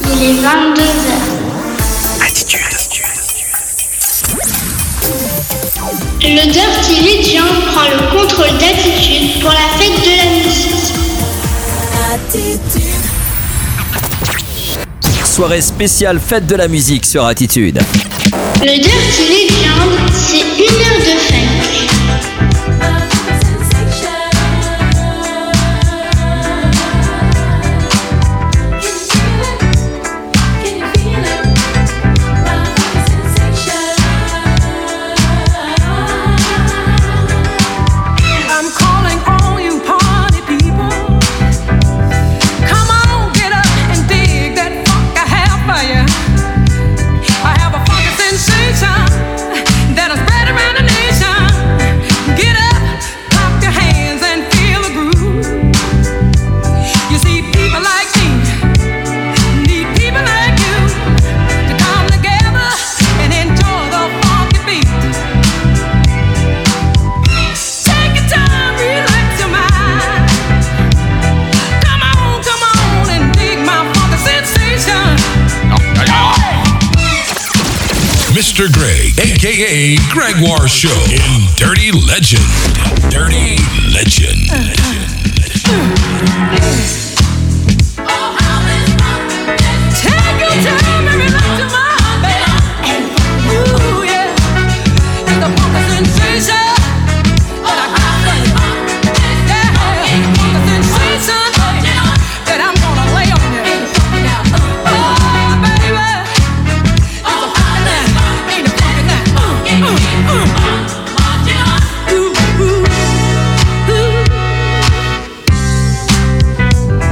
Il est 22h. Attitude. Le Dirty Legend prend le contrôle d'Attitude pour la fête de la musique. Attitude. Soirée spéciale fête de la musique sur Attitude. Le Dirty Legend, c'est 1 heure de fête. Mr. Greg, a.k.a. Gregoire Show in Dirty Legend. Dirty Legend. Take your time and relax your mind, baby. Ooh, yeah. It's the funky sensation that I got for you. Yeah, funky sensation that I'm gonna lay on you. Oh, baby. It's a funky night. Ain't it funky night? Ooh, ooh, ooh.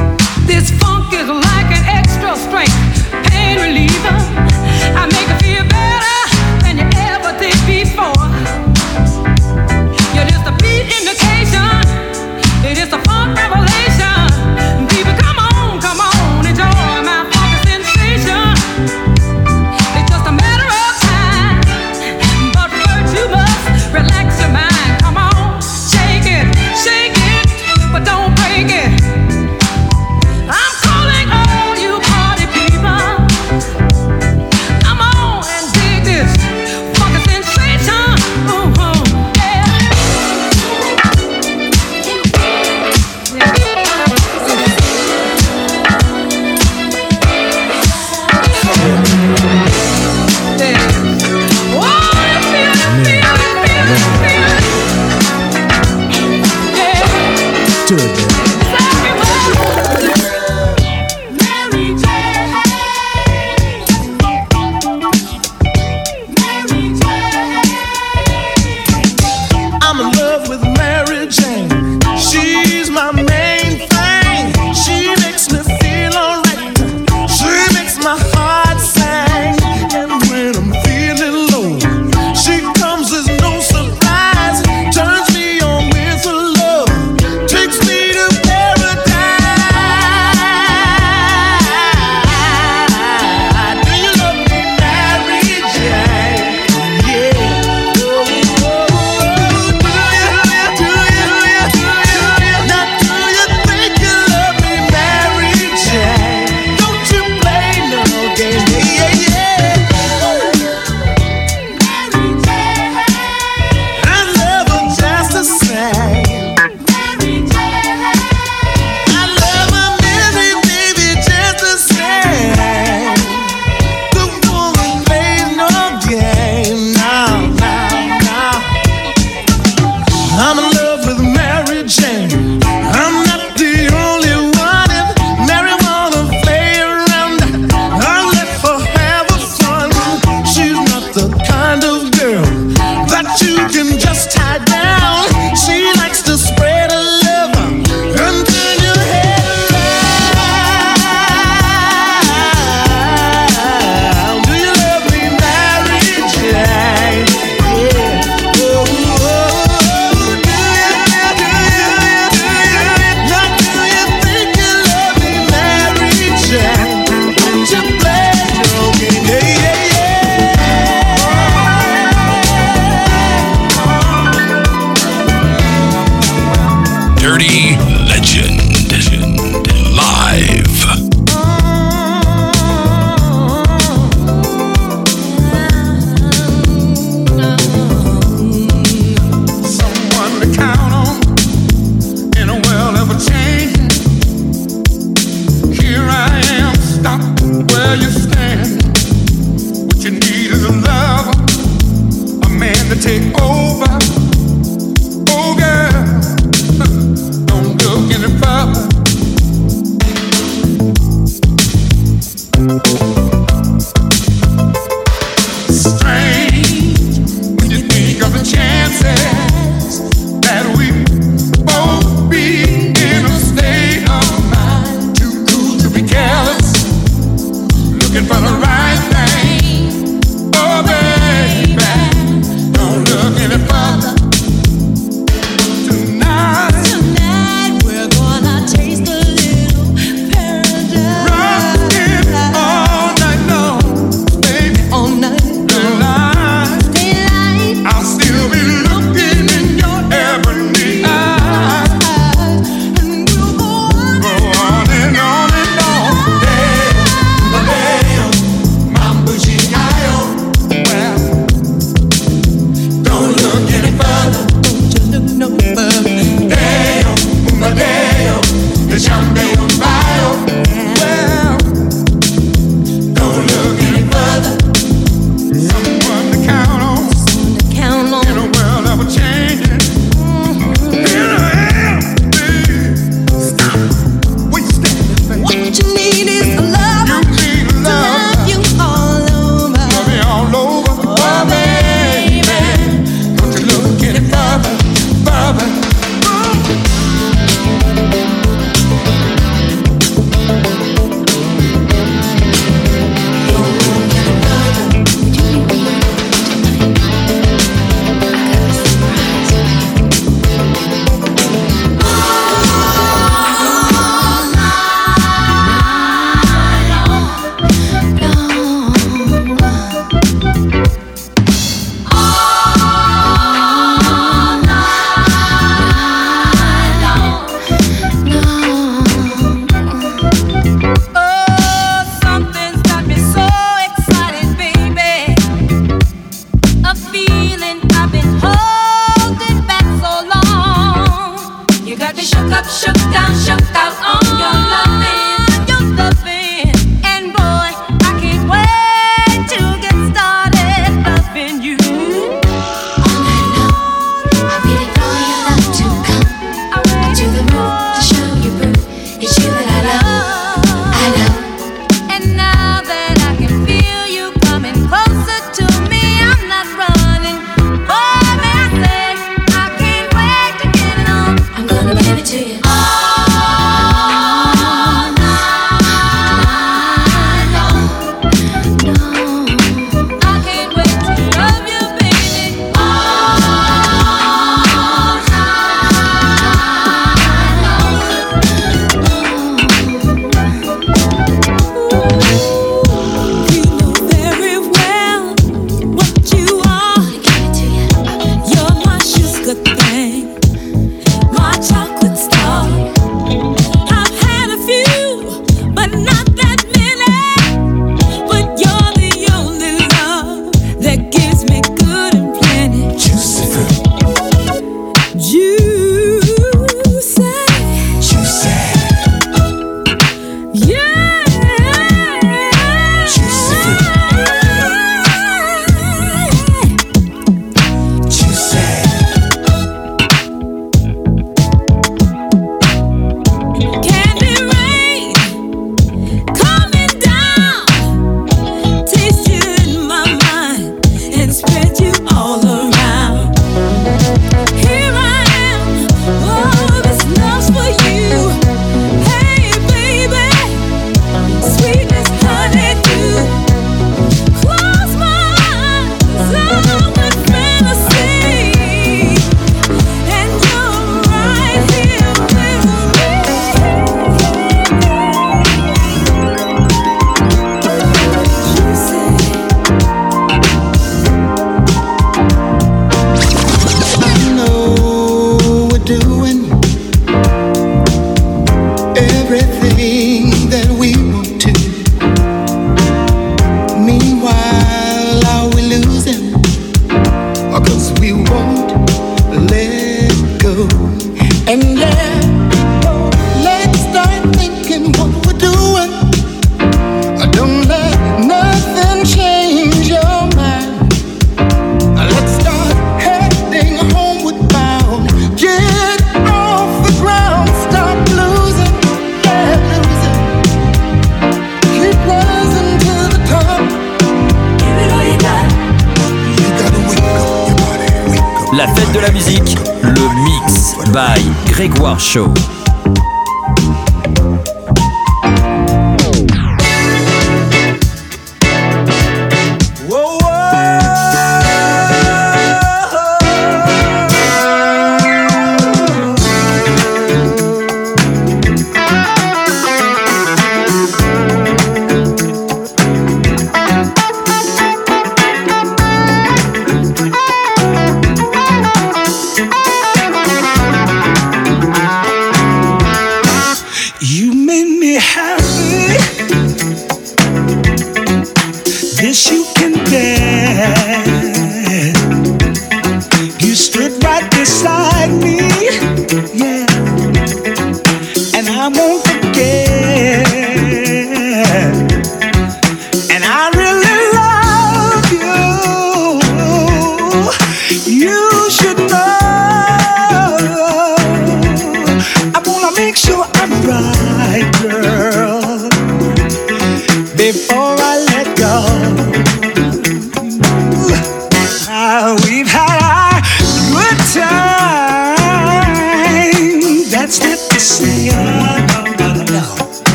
La fête de la musique, le Mix by Grégoire Show.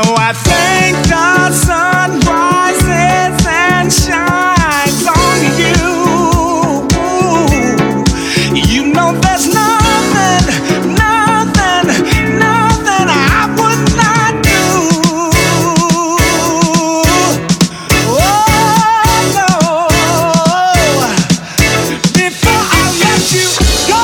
I think the sun rises and shines on you. You know there's nothing, nothing, nothing I would not do. Oh no, before I let you go.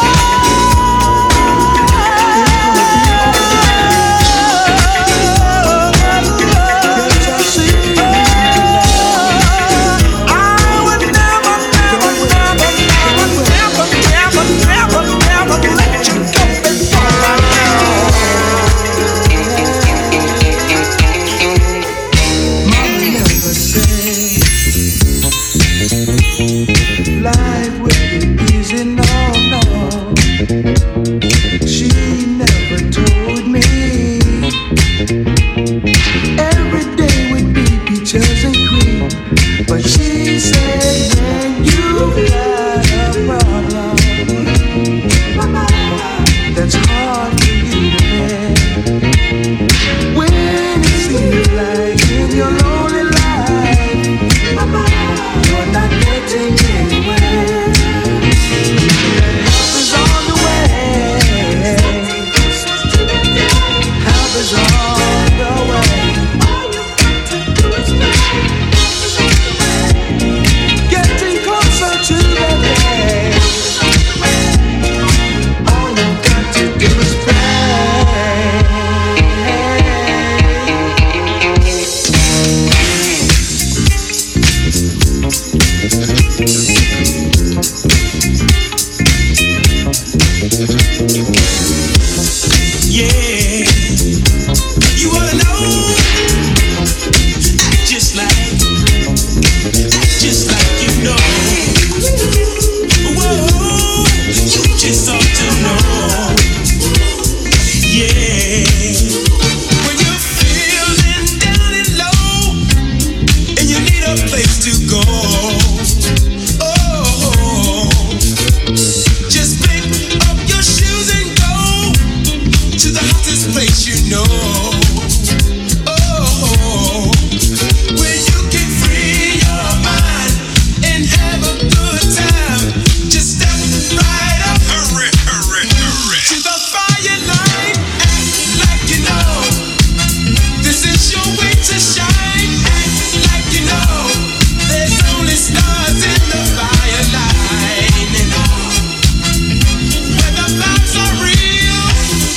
Life will be easy, no, no. She never told me every day would be peaches and cream. But she said when you got a problem that's hard for you to bear, when it seems like in your lonely life you're not getting anywhere, help is on the way. Help is on the way. All you got to do is pray. Getting closer to the day. All you got to do is Yeah, you wanna know? Act just like you know. Whoa, you just ought to know. Yeah, when you're feeling down and low and you need a place to go. Oh, just pick up your shoes and go to the hottest place you know. Oh, where you can free your mind and have a good time. Just step right up, hurry, hurry, hurry, to the fire line. Act like you know this is your way to shine. Act like you know there's only stars in the fire line. When the vibes are real,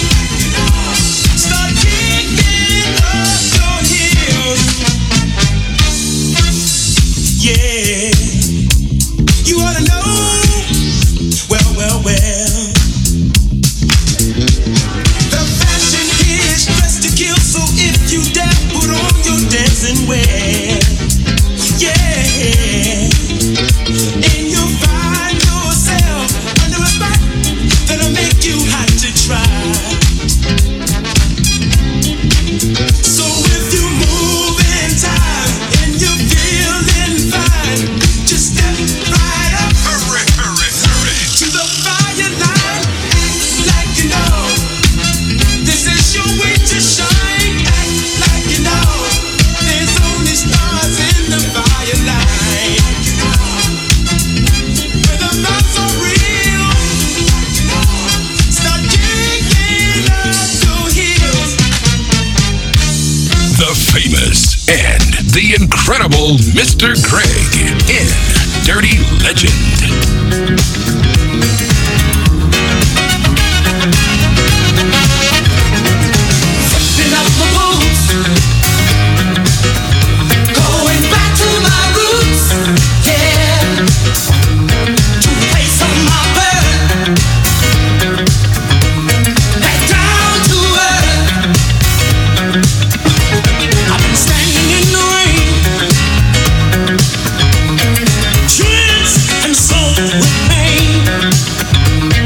start kicking up your heels. Yeah, you ought to know. Well, well, well. The fashion is dressed to kill, so if you dare, put on your dancing wear. Yeah, and you'll find yourself under a spot that'll make you hot to try. So if you move in time and you're feeling fine, just step right up, hurry, hurry, hurry, to the fire line. Act like you know this is your way to shine. Act like you know there's only stars in the fire line. When the vibes are real, start kicking up your heels. The famous and the incredible Mr. Greg in Dirty Legend. Picking up my boots, going back to my roots, yeah, to place on my bird, back down to earth. I've been standing in the rain, drenched and soaked with pain.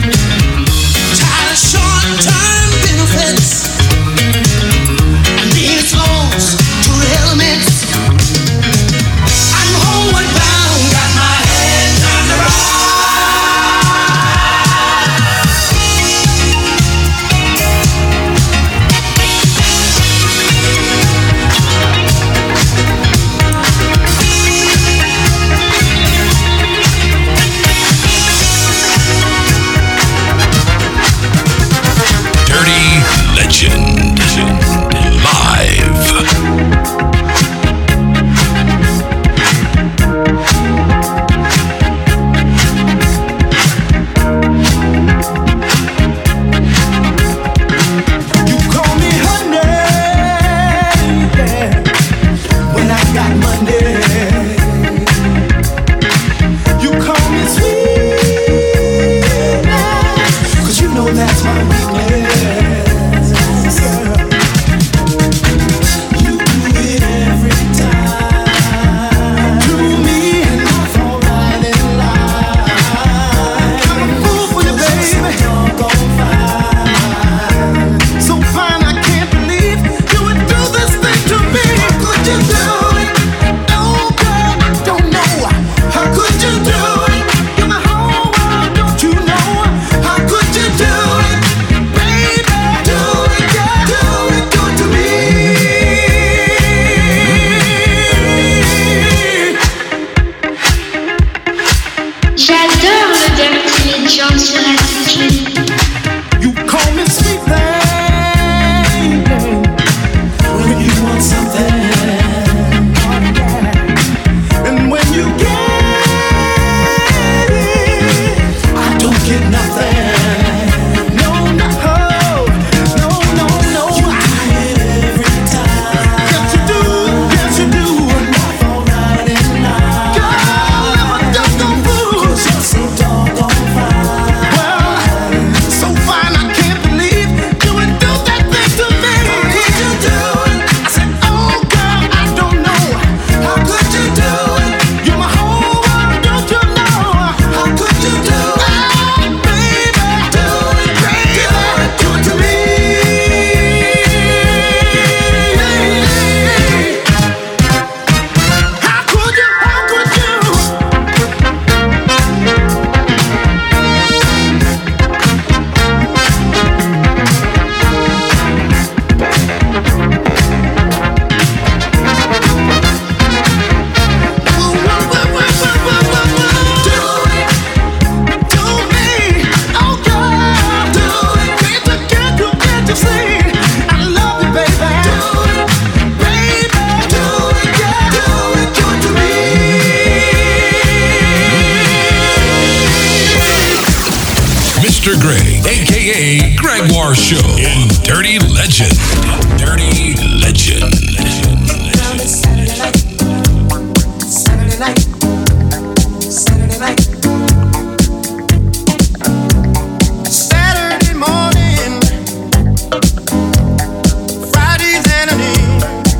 Gregoire Show in Dirty Legend. Dirty Legend. Saturday night. Saturday night. Saturday night. Saturday morning, Friday's afternoon,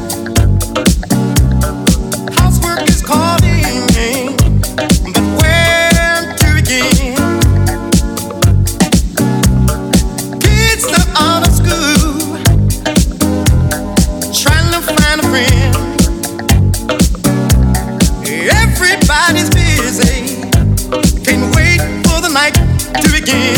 housework is calling, but where to begin? Kids are out of school, trying to find a friend. Everybody's busy, can't wait for the night to begin.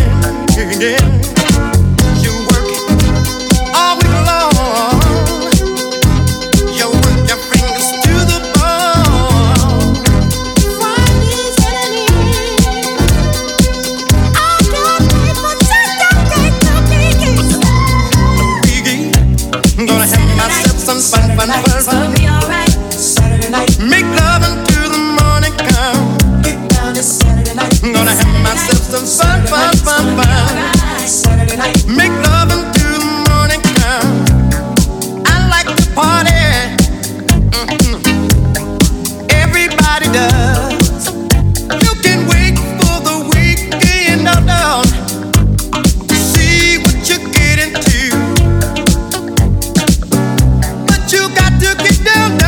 You work all week long, you work your fingers to the bone. Friday's evening, I can't wait for Saturday to begin. Gonna have myself some fun. Gonna be alright. Saturday night. Make love until the morning come. Get down to Saturday night. Gonna have myself some fun. Saturday night. Make love until the morning come. I like to party. Everybody does. You can wait for the weekend down to see what you get into. But you got to get down.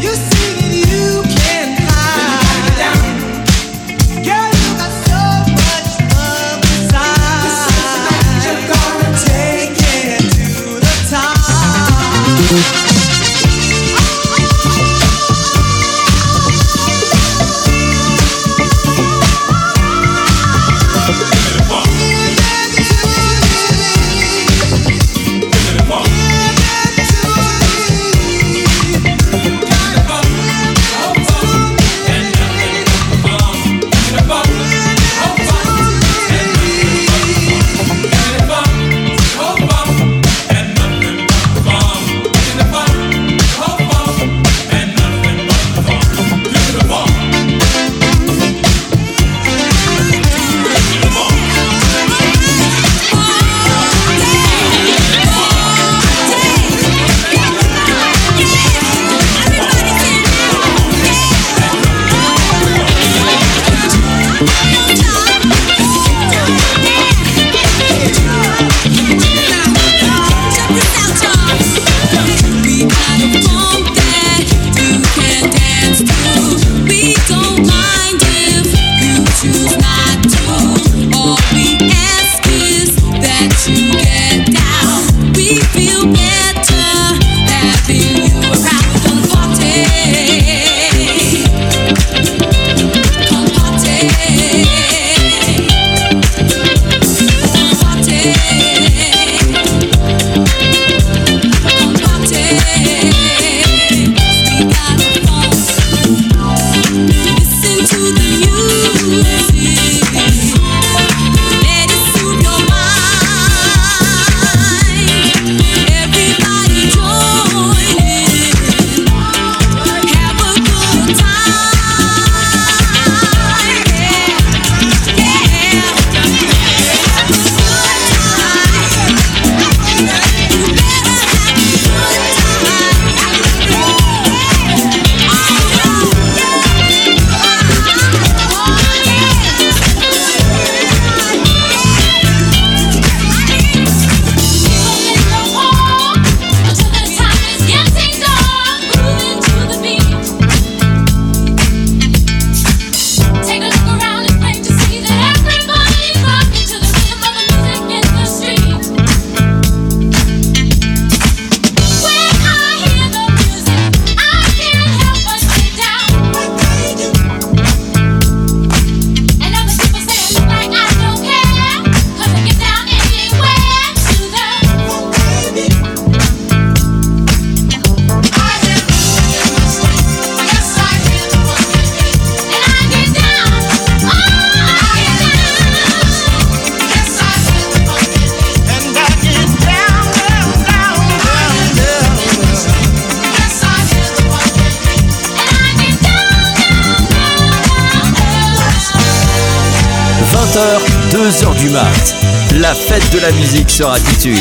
2h du mat. La fête de la musique sur Attitude.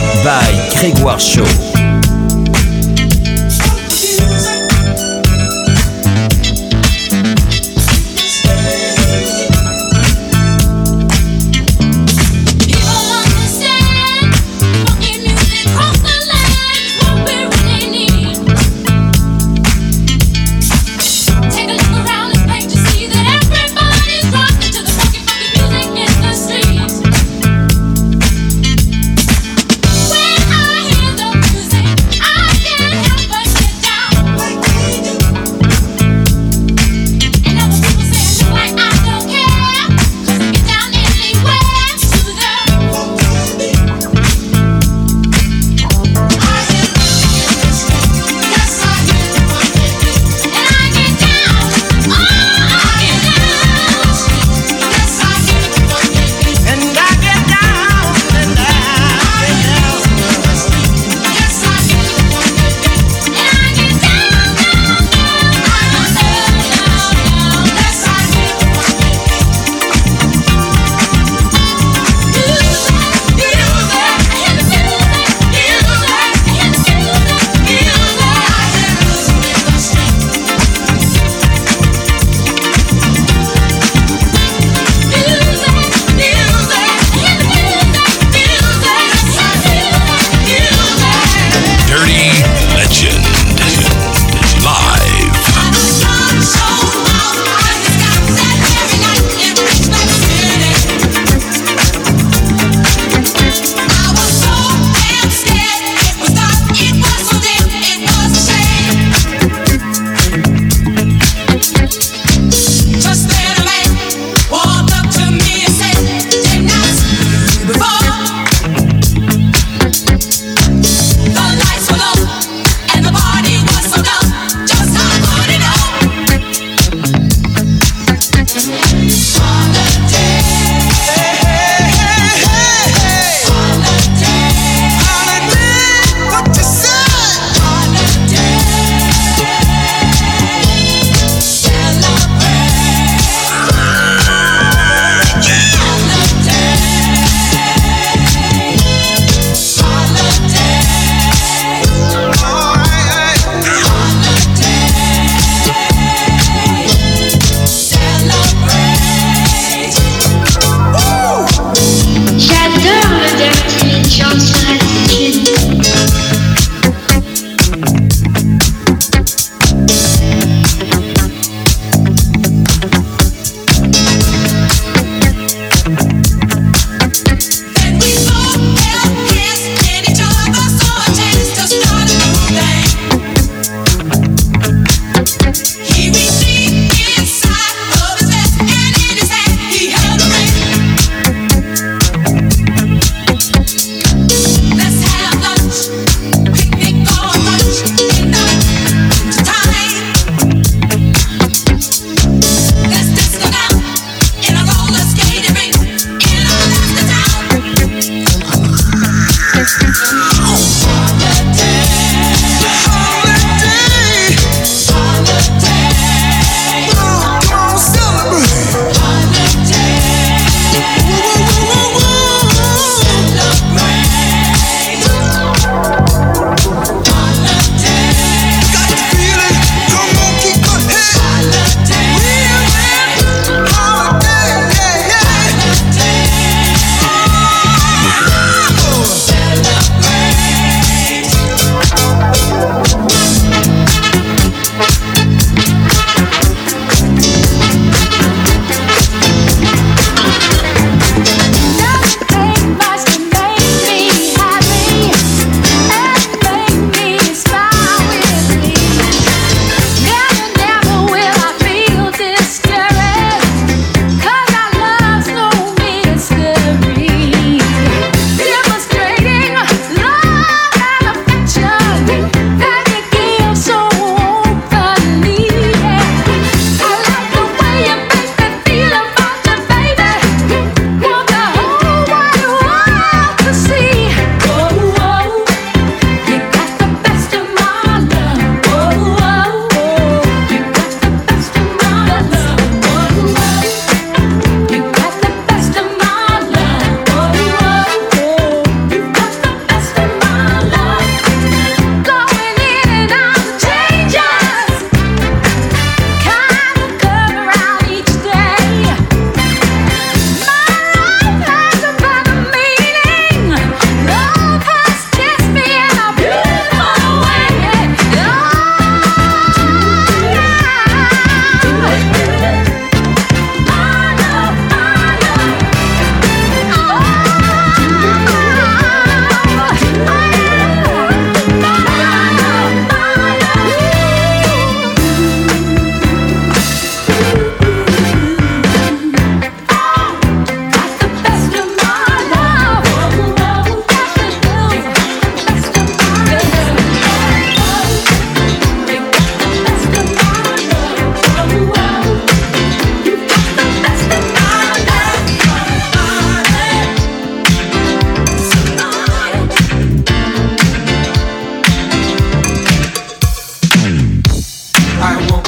By Grégoire Show. When I hear the music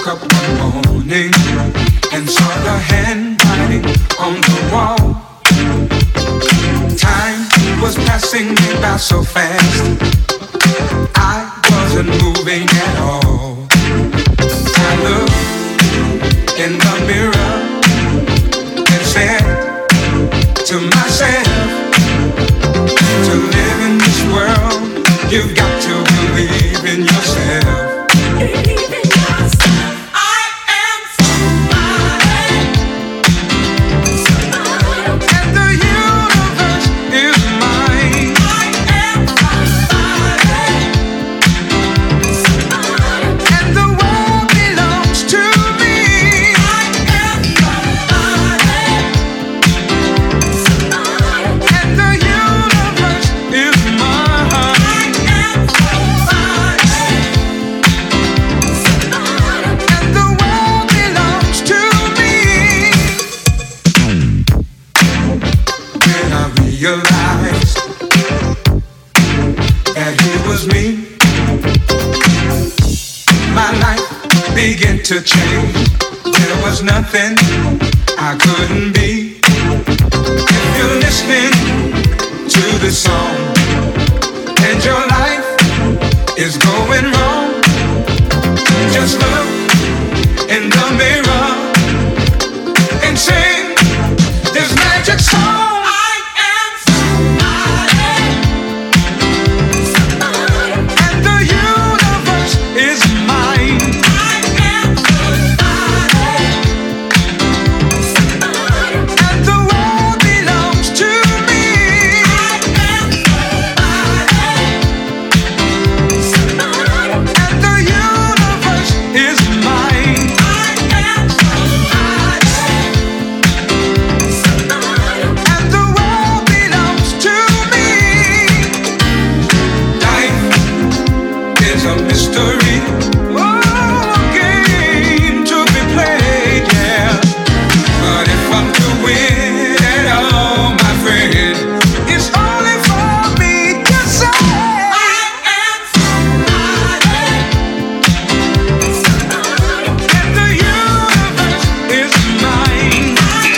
up one morning and saw the handwriting on the wall. Time was passing me by so fast, I wasn't moving at all. I looked in the mirror and said to myself, to live in this world, you've got to believe in yourself. Believe in yourself. I am somebody. And the universe is mine. I am somebody. And the world belongs to me. I am somebody. And the universe is mine. I am somebody. And the world belongs to me. When I realized that he was me, my life began to change. There was nothing I couldn't be. If you're listening to this song and your life is going wrong, just look in the mirror and sing this magic song. I am somebody. And the universe is mine. I am somebody. And the world belongs to me. I am somebody. And the universe is mine. I am somebody. And the world belongs to me. Life is a mystery, oh, a game to be played, yeah. But if I'm to win at all, my friend, it's only for me to say I am somebody. and the universe is mine.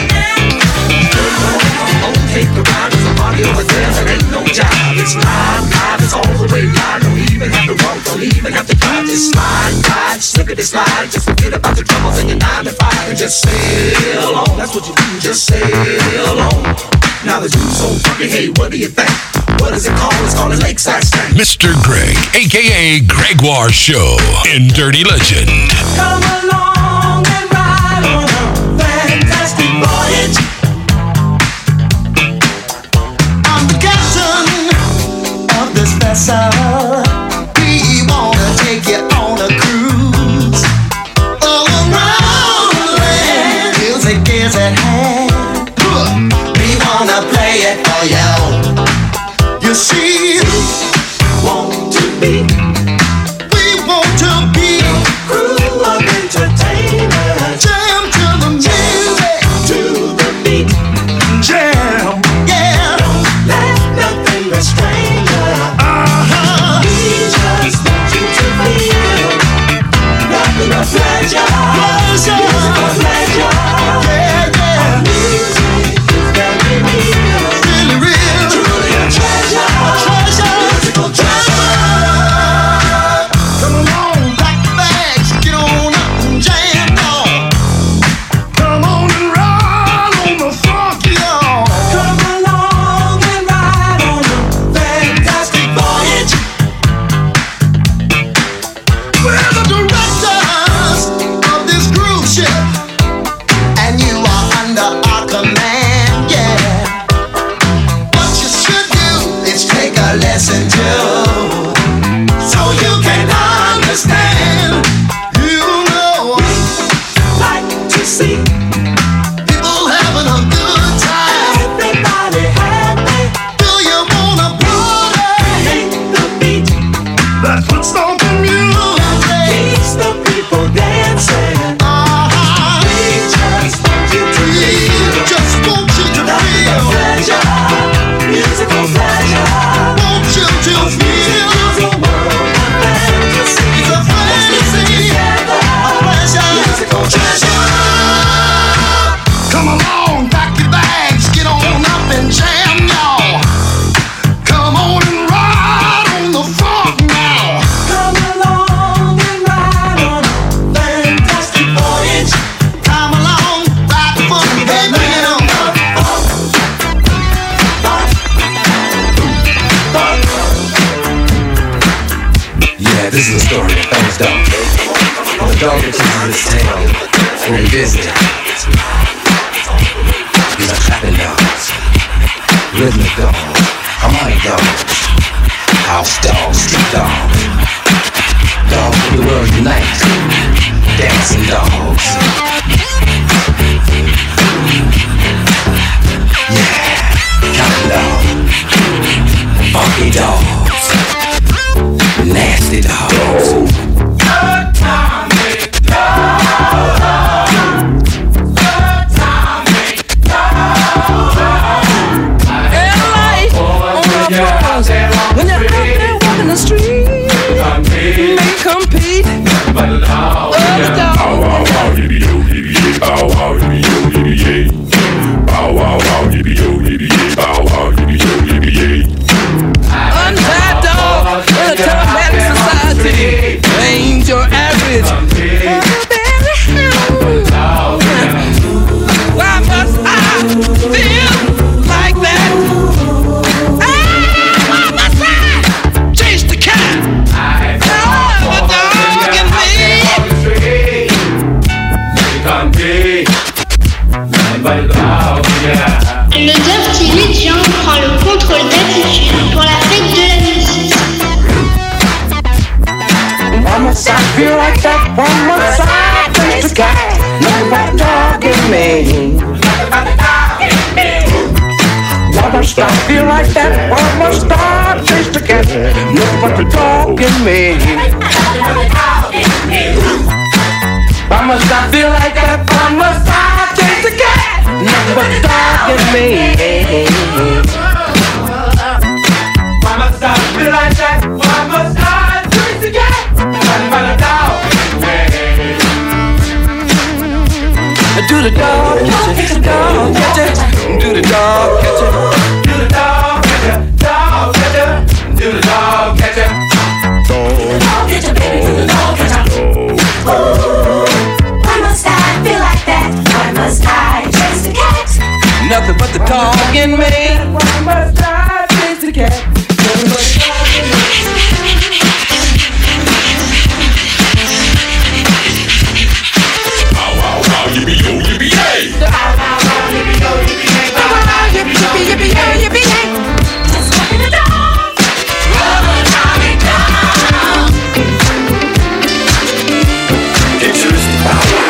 Take the ride, it's a party over there, it ain't no job. It's live, it's all the way live. Don't even have to walk, don't even have to drive. Just slide, slip it and slide. Just forget about the troubles in your 9 to 5 and just sail on. That's what you do, just sail on. Now the dude's so funky, hey, what do you think? What is it called? It's called a lakeside stank. Mr. Greg, aka Gregoire Show in Dirty Legend. Come along and ride on a fantastic voyage. I'm the captain of this vessel. We wanna take you on a cruise all around the land. Music is at hand. We wanna play it for you. You see, Want to be we want to be crew of entertainers jam to the music, to the beat. jam, yeah. Let nothing restrain you. We just want you to feel nothing but pleasure. Pleasure. Musical pleasure. Yeah, yeah. Music is very real. Really real. Truly a treasure. Treasure. Musical treasure. Come along, pack the bags, get on up and jam, y'all. Come on and ride on the funky, y'all. Come along and ride on a fantastic voyage. We're the directors of this this tale and revisit it. These are clapping dogs, rhythmic dogs, harmonic dogs, house dogs, street dogs, dogs of the world unite, dancing dogs. Yeah, counting dogs, funky dogs, nasty dogs. When you're out there walking the street, they compete. Other dogs. Bow wow wow, yippee yo, yippee yay. Bow wow, yippee yo, yippee yay. Bow wow wow, yippee yo, yippee yay. Bow wow, yippee yo, yippee yay. Untied dog in a dramatic society ain't your average. Why must I feel like that? Le Dirty Legend prend le contrôle d'attitude pour la fête de la musique. Why must I feel like that? Why must I taste the cat? Nothing but dog in me. Why must I feel like that? Why must I taste the cat? Nothing but the dog in me. Why must I feel like that? Why must I taste the cat? Nothing but the dog in me. Why must I feel like that? Why must I taste the cat? Nothing but the dog in me. Do the dog, catch it, dog, catch it. Do the dog, catch it. Do the dog, catch it, dog, catch it. Do the dog, catch it. Dog, catch it, baby, do the dog, catch it. Why must I feel like that? Why must I chase the cat? Nothing but the dog in me. Why must I chase the cat? Nothing but the dog in me. Bow wow wow, yippee yo, yippee yay. Bow wow wow, yippee yo, yippee yay. Bow wow wow, yippee yippee yippee yo, yippee yay. Just walking the dog, rubber doggy dog. Introduce the bow wow.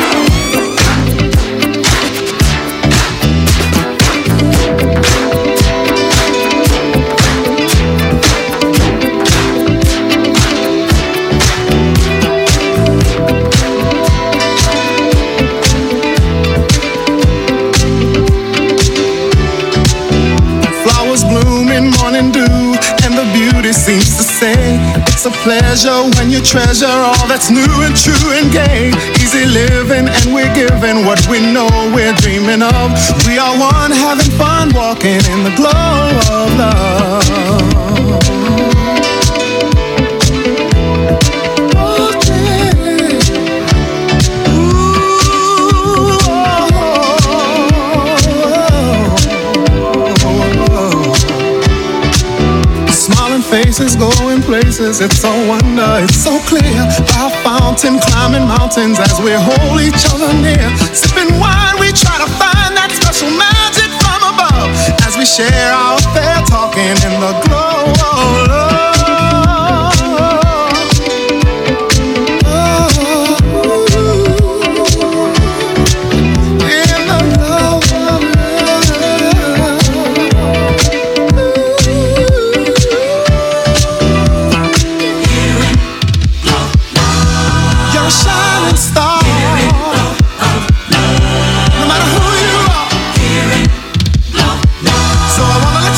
Flowers bloom in morning dew, and the beauty seems to say, it's a pleasure when you treasure all that's new and true and gay. Easy living, and we're giving what we know we're dreaming of. We are one, having fun, walking in the glow of love. Faces going places, it's a wonder, it's so clear. By a fountain, climbing mountains as we hold each other near. Sipping wine, we try to find that special magic from above as we share our affair, talking in the glow of love. So I wanna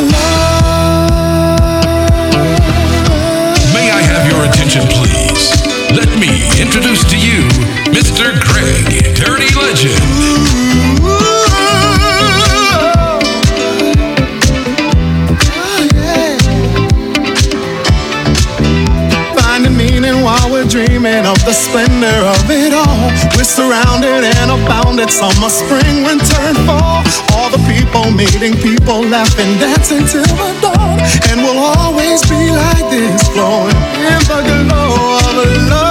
May I have your attention, please? Let me introduce to you Mr. Greg, Dirty Legend. While we're dreaming of the splendor of it all, we're surrounded and abounded. Summer, spring, winter, and fall. All the people meeting, people laughing, dancing till the dawn. And we'll always be like this, flowing in the glow of love.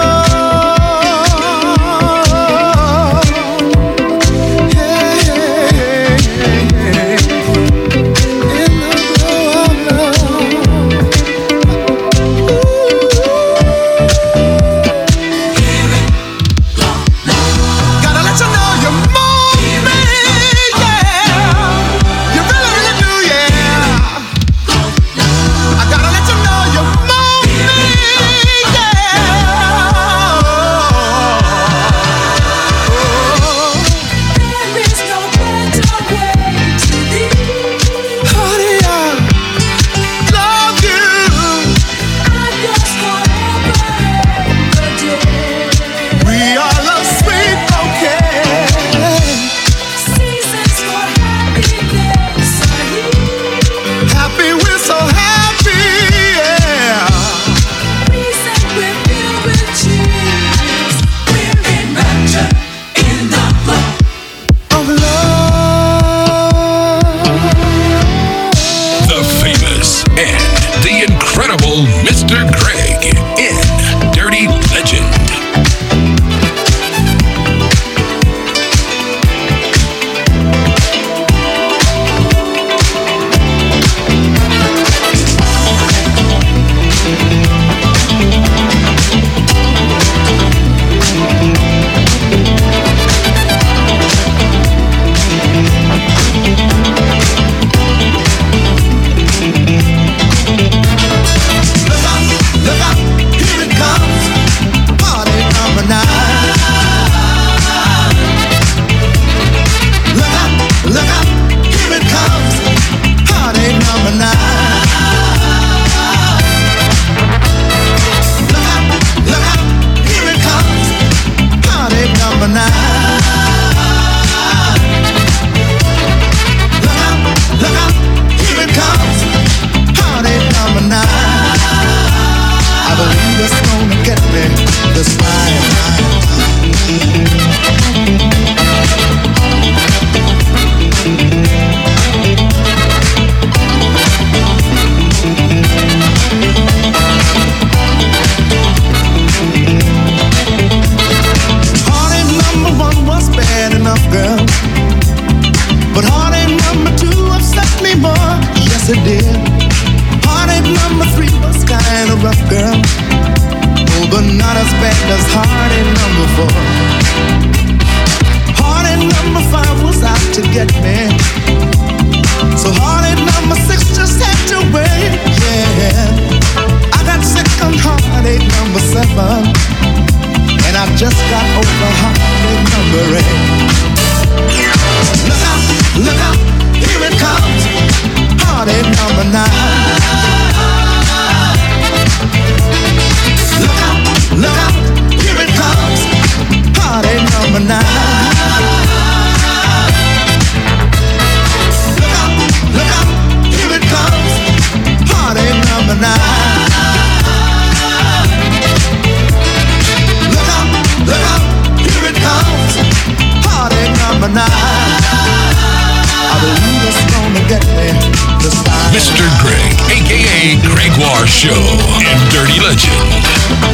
Mr. Greg, aka Gregoire Show and Dirty Legend.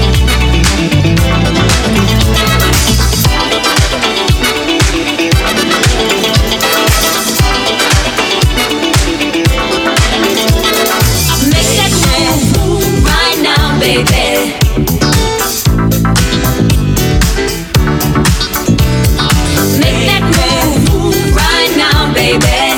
Make that move right now, baby. Make that move right now, baby.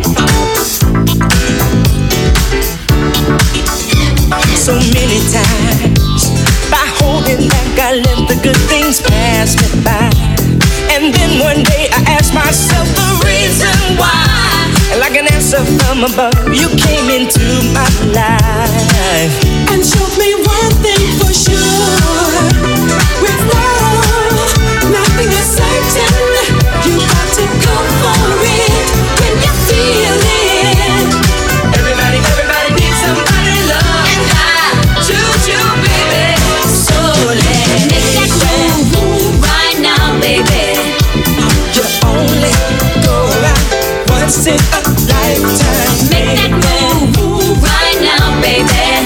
So many times, by holding back, I let the good things pass me by. And then one day I asked myself the reason why. Like an answer from from above, you came into my life and showed me one thing for sure. With love, nothing is certain. You got to go for it when you feel it. Everybody needs somebody to love, and I choose you, baby. So let's make that move right now, baby. You only go around once in a lifetime. Make that move right now, baby.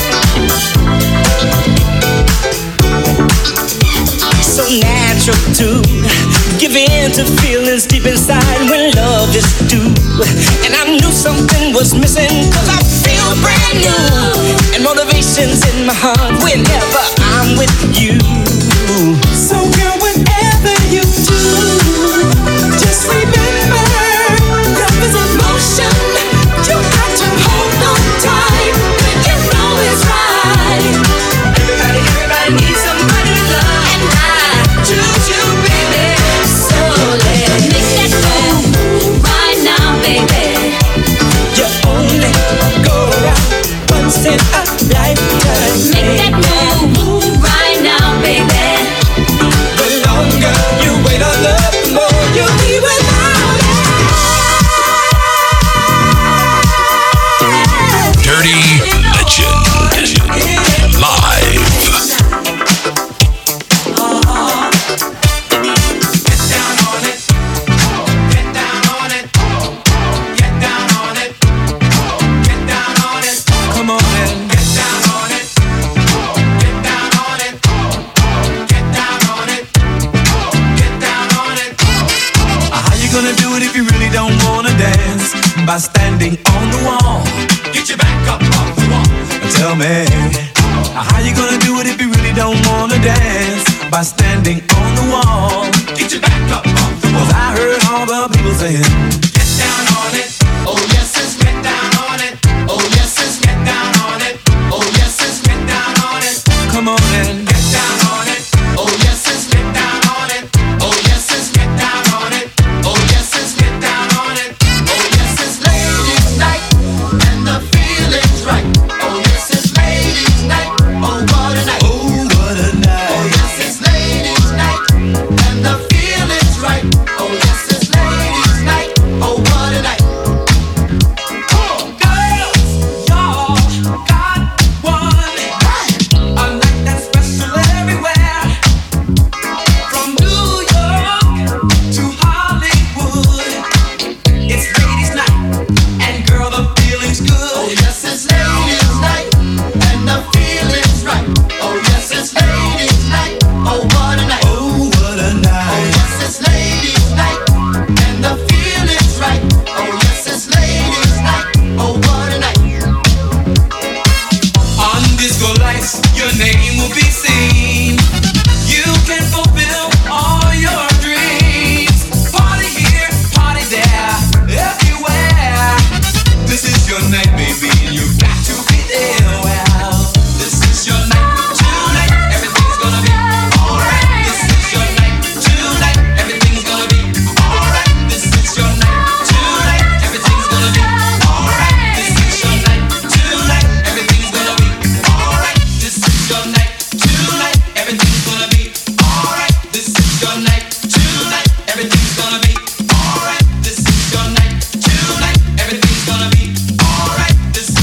So natural to give in to feelings deep inside when love is due. And I knew something was missing, 'cause I feel brand new. And motivation's in my heart whenever I'm with you. So girl, whatever you do, just remember, love is emotion. You got to hold on tight when you know it's right. Everybody needs somebody to love, and I choose you, baby. So let's make that move right now, baby. You only go around once in a lifetime. Make that move right now, baby. The longer you wait on love, the more you'll be without it. Dirty Legend. Live. Come on and get down on it. Get down on it. Get down on it. Get down on it. How you gonna do it if you really don't wanna dance? By standing on the wall. Get your back up off the wall. Tell me, how you gonna do it if you really don't wanna dance? By standing on the wall. Get your back up off the wall. 'Cause I heard all the people saying, get down on it. Oh yes, it's get down on it. Oh yes, it's get down on it. Oh yes, it's get down on it. Come on and get down on it. Oh yes, it's get down on it. Oh yes, it's get down on it. Oh yes, it's get down on it. Oh yes, it's ladies' night and the feeling's right. Oh yes, it's ladies' night. Oh what a night. Oh what a night. Oh yes, it's ladies' night and the feeling's right. Oh yes, it's ladies' night. Oh what a night. This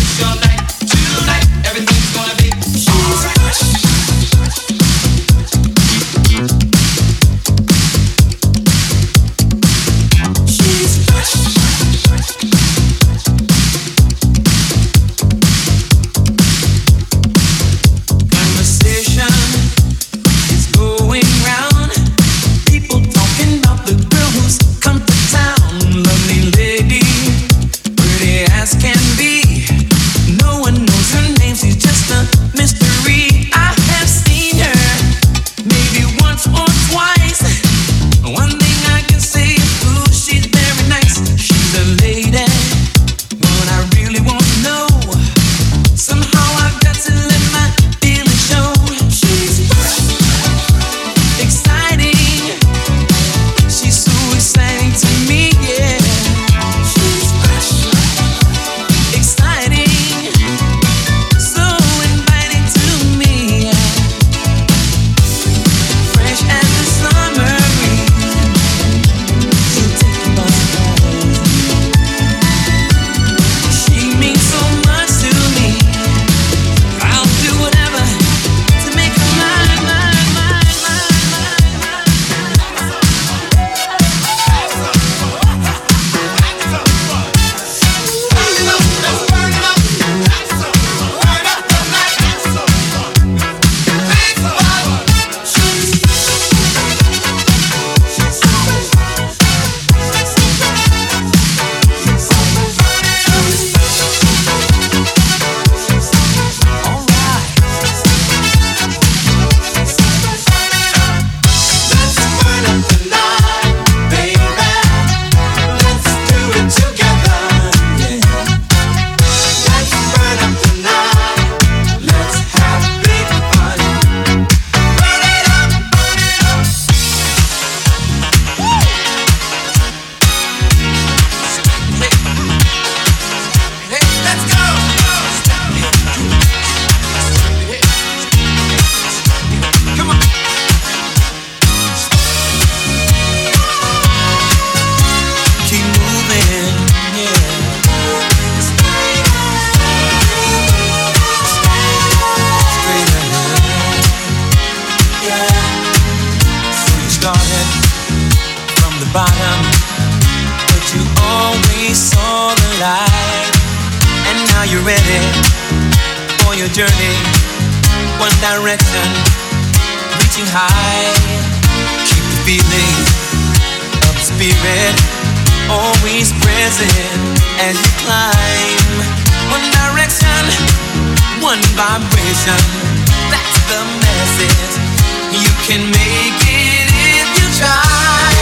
you ready for your journey? One direction, reaching high. Keep the feeling of the spirit always present as you climb. One direction, one vibration. That's the message. You can make it if you try.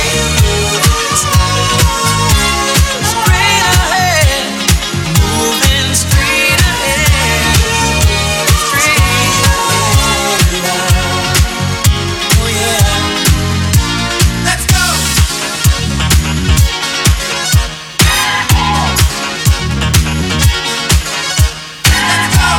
Straight ahead, moving straight ahead, straight ahead. Oh yeah, let's go. Let's go.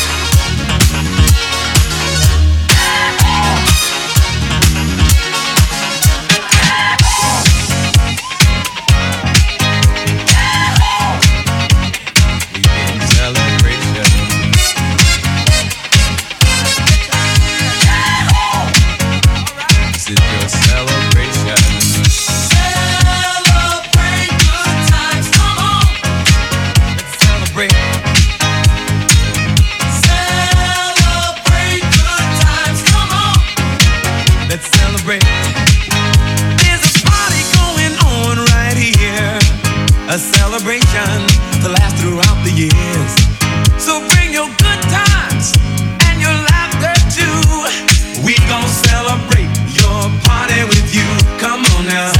A celebration to last throughout the years. So bring your good times and your laughter too. We gon' celebrate your party with you. Come on now.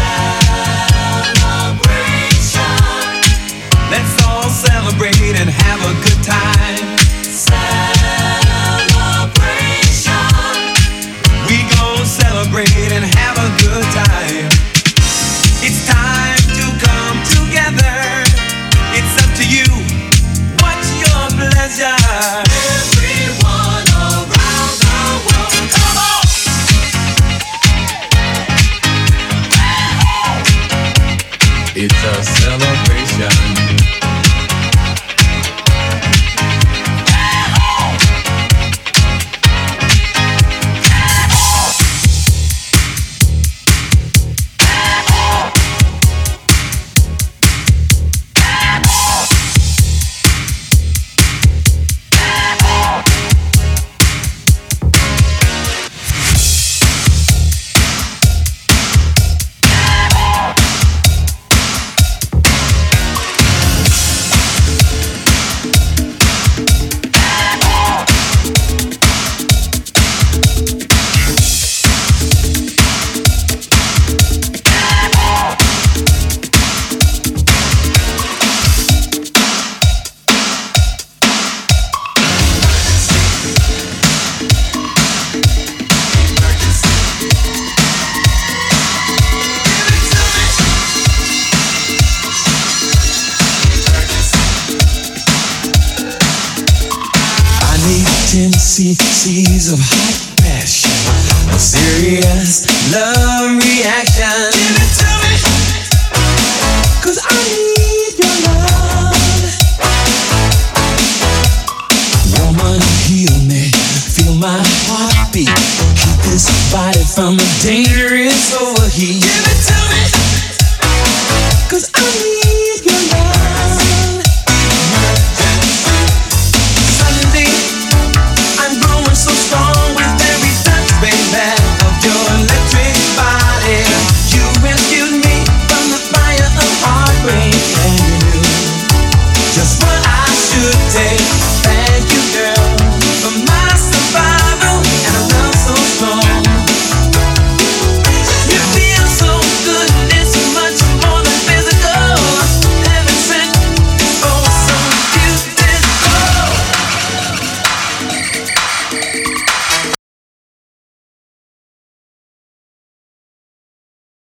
Celebration. Let's all celebrate and have a good time. Celebration. We gon' celebrate and have a good time. It's time to come together. It's up to you. What's your pleasure? Everyone around the world, come on! It's a celebration. Seas of hot passion, a serious love reaction.